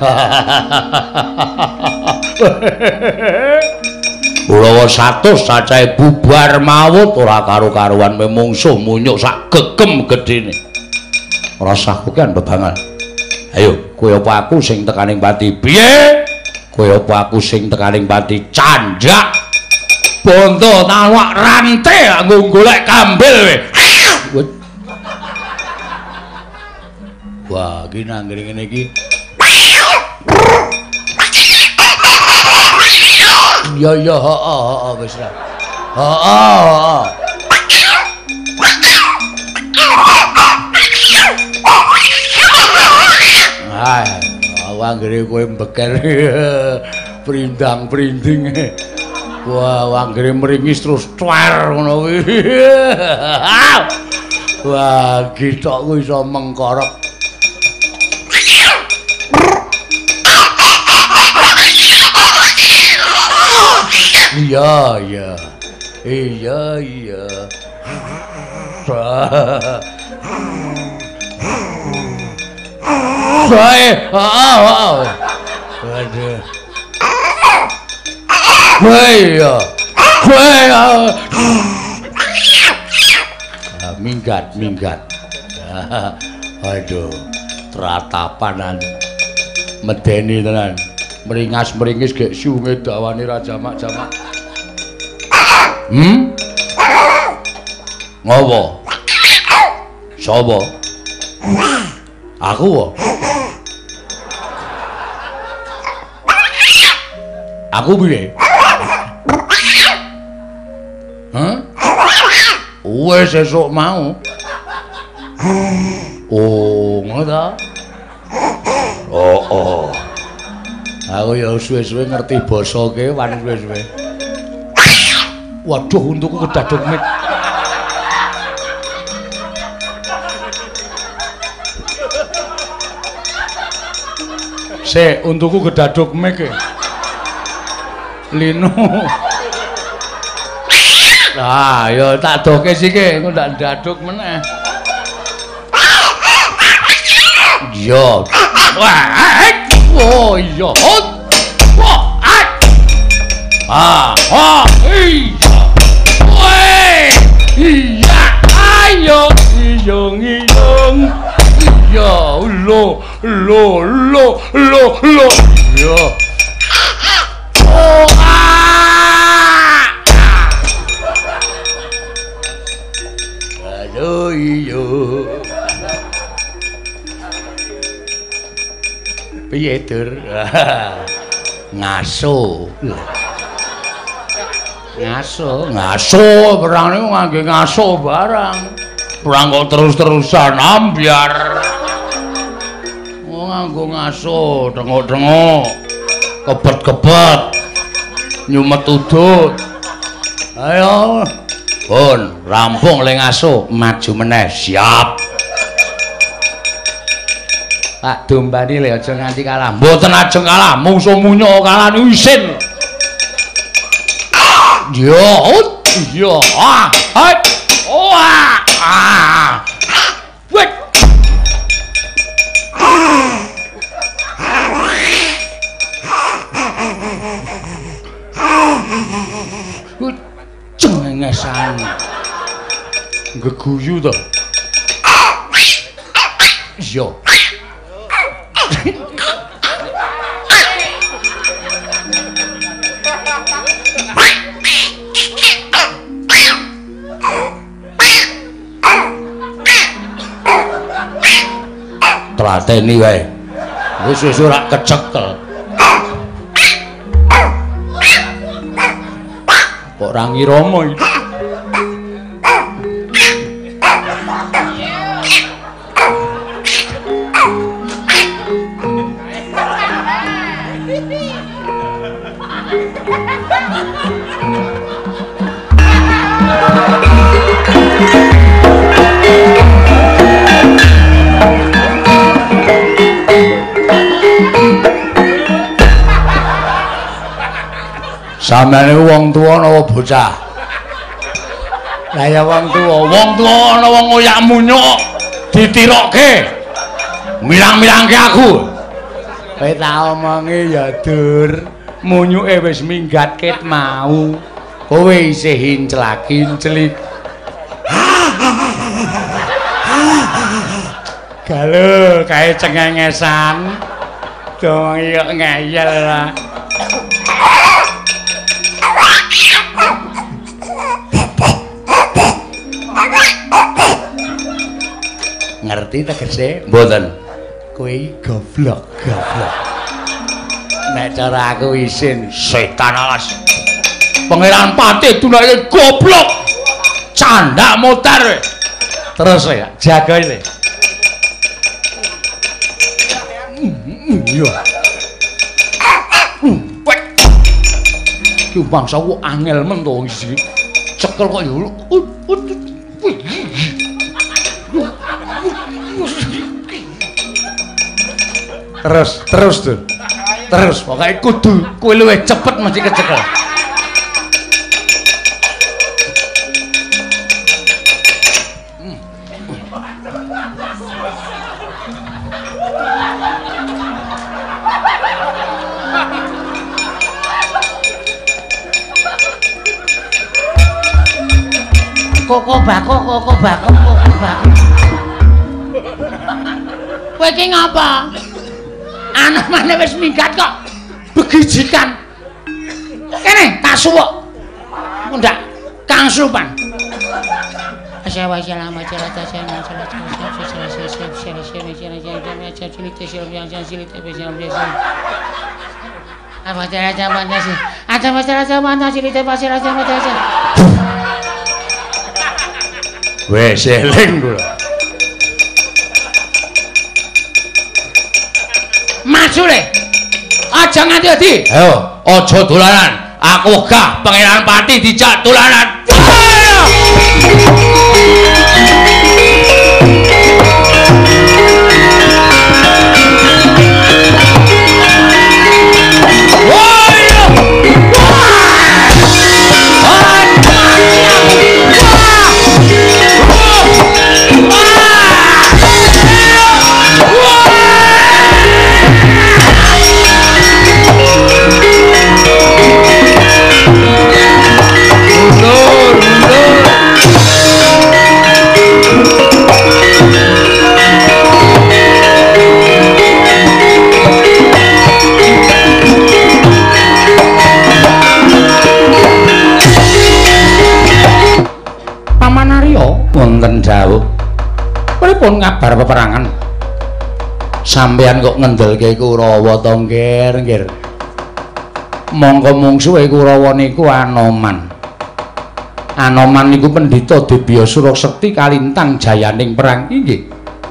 Ulawa 100 cacahe bubar mawut ora karo-karuan memungsuh munyuk sak gegem gedene. Rasaku kan bebangan. Ayo, kowe apa aku sing tekaning pati? Piye? Kowe apa aku sing tekaning pati? Candak. Bondo tawak rantai nggo golek kambil we. Wah, iki nang ngene iki. iya iya heeh wis ra. Heeh. Ah, wanggere kowe mbeker. Prindang-prinding. Wah, wanggere meringis terus cuer ngono kuwi. Wah, githokku iso mengkorok. Iya, iya. Iya, iya. Baik, aduh. Iya. Minggat. Aduh, teratapanan. Medeni tenan. Meringas-meringis gek sunge dawane ra jamak-jamak. Ngopo? Sapa? Aku wae. Aku piye? Hah? Wes sesuk mau. Oh, ngono ta? Oh. Aku ya suwe-suwe ngerti basa kewan suwe-suwe. Waduh, untukku kedaduk mik. Sik, untukku kedaduk mik. Lino. Nah, ya tak doke sike, engko ndak ndaduk meneh. Iya. Wah, oh iya. Wah, iya. Weh. Iya, ayo iyong. Iya, lo. Iya. Oh, aduh iya. Piye Dur? Ngaso perang niku ngangge ngaso barang. Perang kok terus-terusan ambyar. Oh nganggo ngaso, dengok-dengok. Kebet-kebet. Nyumet udut. Ayo. Pun, rampung le ngaso, maju meneh, siap. Pak dombani le aja nganti kalah. Mboten ajeng kalah, mungsuh munyo kalah niku isin. Yo, wait. Cengengesan. Geguyu to. Yo. Tlateni wae. Wis ora kecekel. Kok ora ngirama iki. Sampeyan wong tuwa napa bocah? Lah ya wong tuwa ana wong ngoyak munyuk ditirokke. Milang-milangke aku. Kowe tak omongi ya Dur, munyuke wis minggat ket mau. Kowe isih hinclak-hinclik. Galo kae cengengesan. Dong iya ngeyel lah. Ngerti tegese? Mboten. Kowe goblok. Nek cara aku isin setan alas. Pangeran Pati dunake goblok. Candak motor. Terus ya, jaga ini. Iya. Ki bangsa ku angel men to iki. Cekel kok ya. Terus tuh. Terus pokoke kudu kowe luwih cepet mesti kecekel. Koko bako. Kowe iki ngapa? Anomane wis minggat kok. Begijikan. Kene tak suwuk. Mundak Kang Supan. Wes eling kula. Maju le. Aja nganti adi. Ayo, aja dolanan. Aku gah Pangeran Pati dijak dolanan. Wonten dawuh. Pripun ngabar peperangan? Sampeyan kok ngendelke Kurawa to, nggir. Mongko mungsuhe Kurawa niku Anoman. Anoman niku pendhita Debya Surasekti kalintang jayaning perang inggih.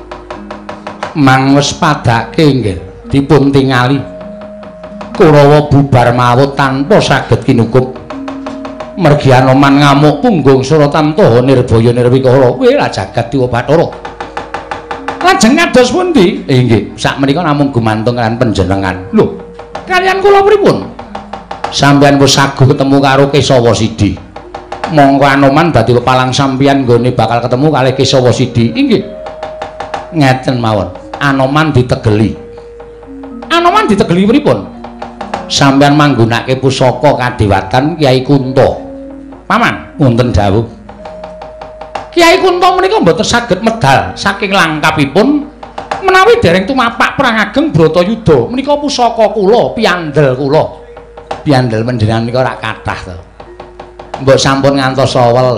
Mang wis padake nggih dipun tingali. Kurawa bubar mawut tanpa saged kinukup. Mergi Anoman ngamuk punggung Suratan Taha Nirbaya Nirwikara wela jagat Dewa Bathara. Lajeng kados pundi? Inggih, sakmenika namung gumantung kalian panjenengan. Lho, kalian kula pripun? Sampeyan wis saguh ketemu karo Kesawa Sidi. Monggo Anoman dadi pepalang sampeyan nggone bakal ketemu kalih Kesawa Sidi. Inggih. Ngeten mawon. Anoman ditegeli. Anoman ditegeli pripun? Sampeyan manggunake pusaka kadewatan Kyai Kunto. Paman, wonten dawuh. Kyai Kunto menika mboten saged medal saking langkapipun menawi dereng tumapak perang ageng Bratayuda. Menika pusaka kula, piandel kula. Piandel panjenengan menika rak kathah to. Mbok sampun ngantos sawel.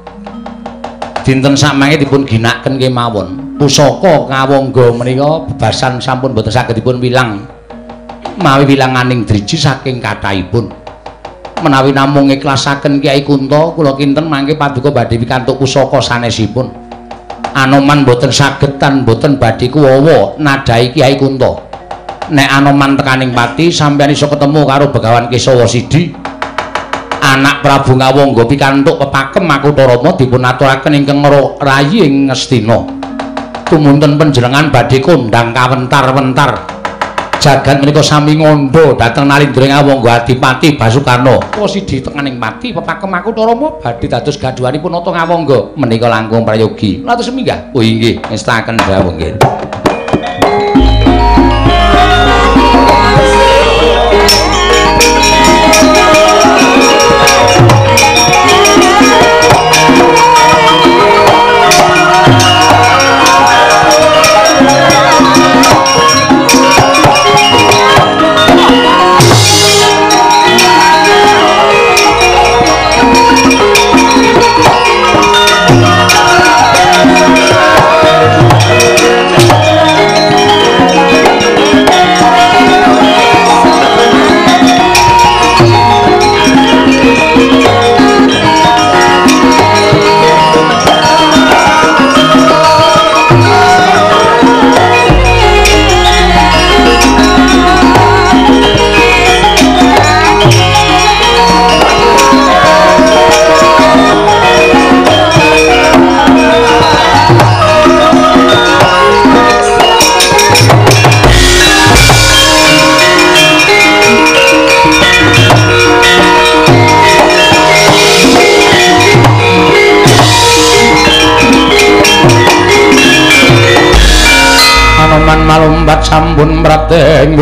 Dinten samangke dipun ginakaken kemawon. Pusaka kawangga menika bebasan sampun mboten saged dipun wilang. Mawi wilanganing driji saking kathahipun. Menawi namung ikhlasaken Kyai Kunto kula kinten mangke paduka badhe pikantuk pusaka sanesipun. Anoman boten saged tan boten badhe kuwawa nadhahi Kyai Kunto. Nek Anoman tekaning pati sampeyan iso ketemu karo Begawan Kesawa Sidi. Anak Prabu Ngawangga pikantuk pepakem Makutha Rama dipun aturaken ingkang rayi ing Ngastina. Tumunten panjenengan badhe kondhang kawentar-wentar. Jagat menika sami ngondo dhateng Nalindra Ngawangga Adipati Basukarna. Kula Sidi tekaning pati pepakem Makutha Rama badhe dados gadhuhanipun Nata Ngawangga menika langkung prayogi. Latus minggah. Oh inggih, ngestaken dawuh nggih. pun Prateng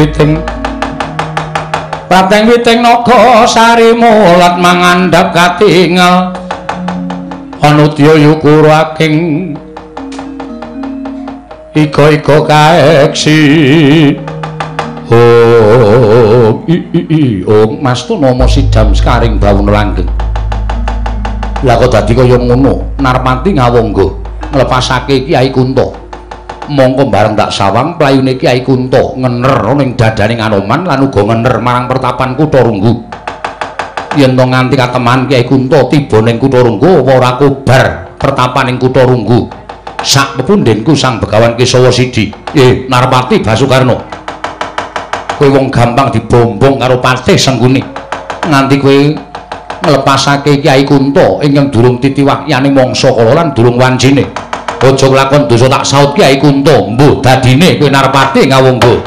Witing naga sari mulat mangandhap katingal Anudya Yukura king ika kaeksi Mastu nama sidam sekaring bawun langgeng lah kok dadi kaya ngono Narpati ngawangga nglepasake Kyai Kunto mongko bareng tak sawang playune Kyai Kunto ngener ning dadaning Anoman lan uga ngener marang pertapan Kutha Runggu yen to nganti kateman Kyai Kunto tiba ning Kutha Runggu apa ora kobar pertapaning Kutha Runggu sak pepundhenku Sang Begawan Kesawa Sidi Narpati Basukarna kowe wong gampang dibombong karo Patih Sengguni nganti kowe nglepasake Kyai Kunto ingkang durung titiwakyane mangsa kala lan durung wancine aja nglakon dosa tak saut Kyai Kunto mbuh dadine kowe Narpati ngawangga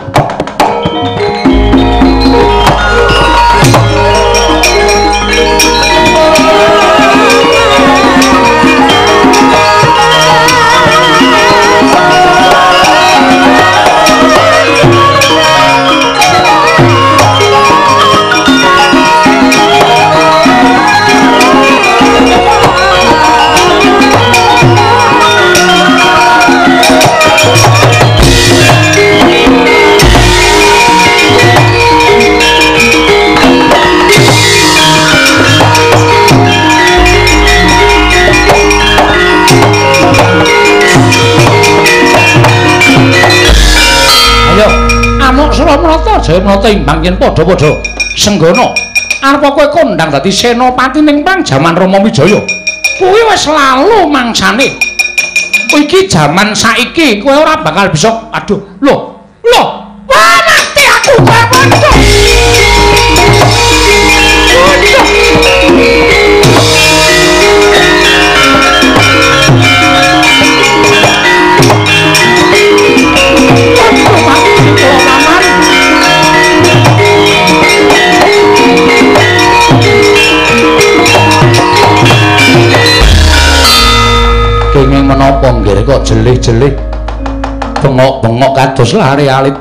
Jaya menata imbang yen padha-padha senggana arepa kowe kondang dadi senopati ning perang jaman Rama Wijaya kuwi wis lalu mangsane iki jaman saiki kowe ora bakal bisa aduh lho wah mati aku kowe padha kenging menapa nggih kok jelih-jelih bengok-bengok kados lare alit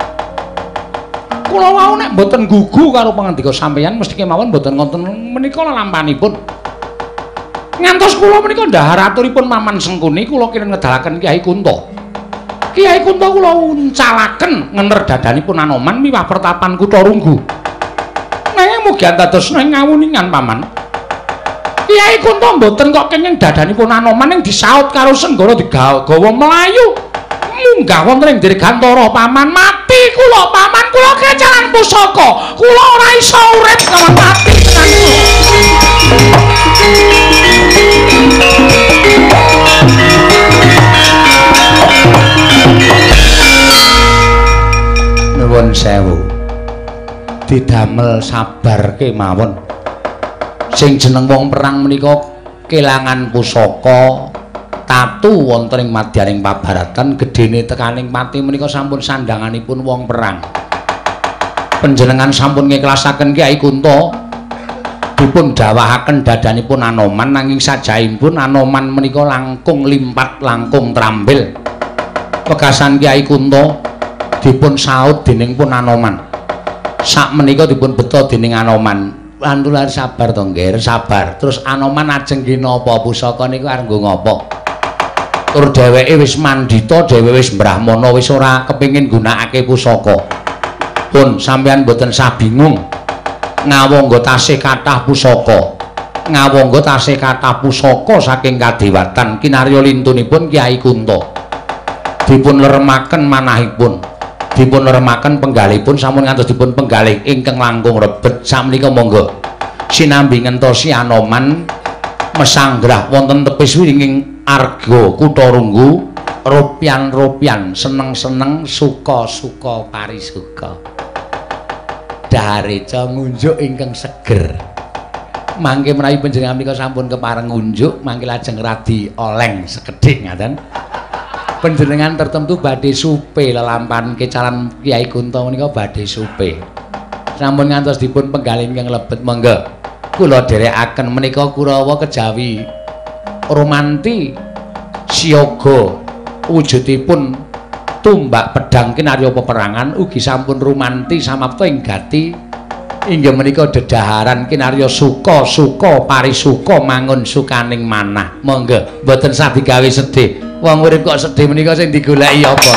kula wau nek mboten gugu karo pangandika sampeyan mesti kemawon mboten wonten menika lalampanipun ngantos kula menika ndahar aturipun Maman Sengkuni kula kira ngedalaken Kyai Kunto kula uncalaken ngener dadanipun Anoman miwah pertapan Kutha Runggu nanging mugi antados ing ngawuningan Paman Kyai Kunto mboten kok kenging dadanipun Anoman ing disaut karo Senggara digawa mlayu munggah wonten ing dirgantara Paman mati kula Paman kula kecalan pusaka kula ora iso urip kawon mati tenan nuwun sewu didamel sabar kemawon sing jeneng wong perang menika kelangan pusaka tatu wonten ing madyaning pabaratan gedene tekaning pati menika sampun sandanganipun wong perang panjenengan sampun ngiklasaken Kyai Kunto dipun dawahaken dadanipun Anoman nanging sajaipun Anoman menika langkung limpat langkung trambil pegasan Kyai Kunto dipun saut dening pun Anoman sak menika dipun beto dening Anoman antular sabar to nggih sabar terus Anoman ajeng ki napa pusaka niku arep nggo ngopo tur dheweke wis mandita dheweke wis brahmana wis ora kepengin gunakake pusaka pun sampeyan mboten sah bingung ngawangga tasih kathah pusaka ngawangga tasih kathah pusaka saking kadewatan kinarya lintunipun Kyai Kunto dipun leremaken manahipun dipun leremaken penggalipun sampun ngantos dipun penggalih ingkang langkung rebet sakmenika monggo sinambi ngentosi Anoman mesanggrah wonten tepis winging arga Kutha Runggu ropian-ropian seneng-seneng suka-suka parisuka dhareca ngunjuk ingkang seger mangke menawi panjenengan menika sampun kepareng ngunjuk mangke lajeng radi oleng sekedhik ngaten panjenengan tertentu badhe supe lelampahan kecalan Kyai Kunto menika badhe supe sampun ngantos dipun penggalih ingkang lebet monggo kula dherekaken menika Kurawa kejawi romanti siaga wujudipun tumbak pedang kinarya peperangan ugi sampun rumanti samapta ing gati inggih menika dedaharan kinarya suka parisuka mangun sukaning manah. Monggo mboten sah digawe sedih. Wong urip kok sedih menika sing digoleki apa?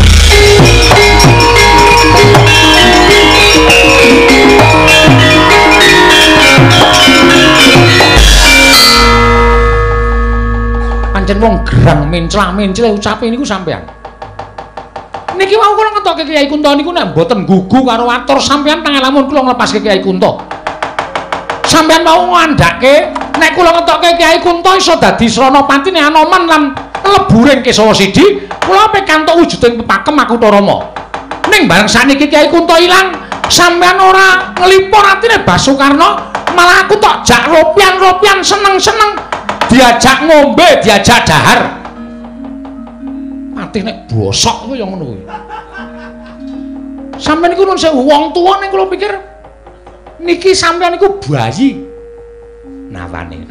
Pancen wong gerang menclah-mencleh ucape niku sampean. Niki wau kula ngetokke Kyai Kunto niku nek mboten gugu karo atur sampean pangalamun kula nglepaske Kyai Kunto. Sampean mau ngandhake nek kula ngetokke Kyai Kunto iso dadi Sranapatine Anoman lan leburing Kesawa Sidi, kula pikantuk wujuding pepakem Makutha Rama. Ning bareng saniki Kyai Kunto ilang, sampean ora nglipur atine Basukarna, malah aku tok jak ropian-ropian seneng-seneng diajak ngombe, diajak dahar. Mati nek bosok kuwi ya ngono kuwi. Sampeyan niku nun sewu wong tuwa ning kula pikir niki sampeyan niku bayi. Namane.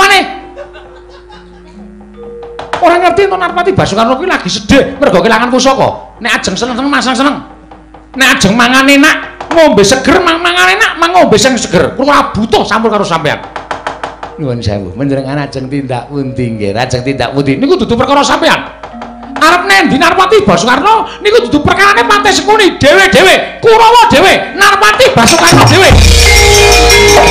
Ora ngerti to Narpati Basukarna kuwi lagi sedih mergo kelangan pusaka. Nek ajeng seneng-seneng masang seneng. Nek ajeng mangan enak, ngombe seger, mangan enak, ngombe sing seger. Kula butuh sampun karo sampeyan. Nuwun sewu, menjenengan ajeng tindak pundi nggih? Ajeng tindak pundi? Niku dudu perkara sampeyan. Arep nendi Narpati Basukarna niku dudu perkarane Pate Sekuni dhewe-dhewe, Kurawa dhewe, Narpati Basukarna dhewe.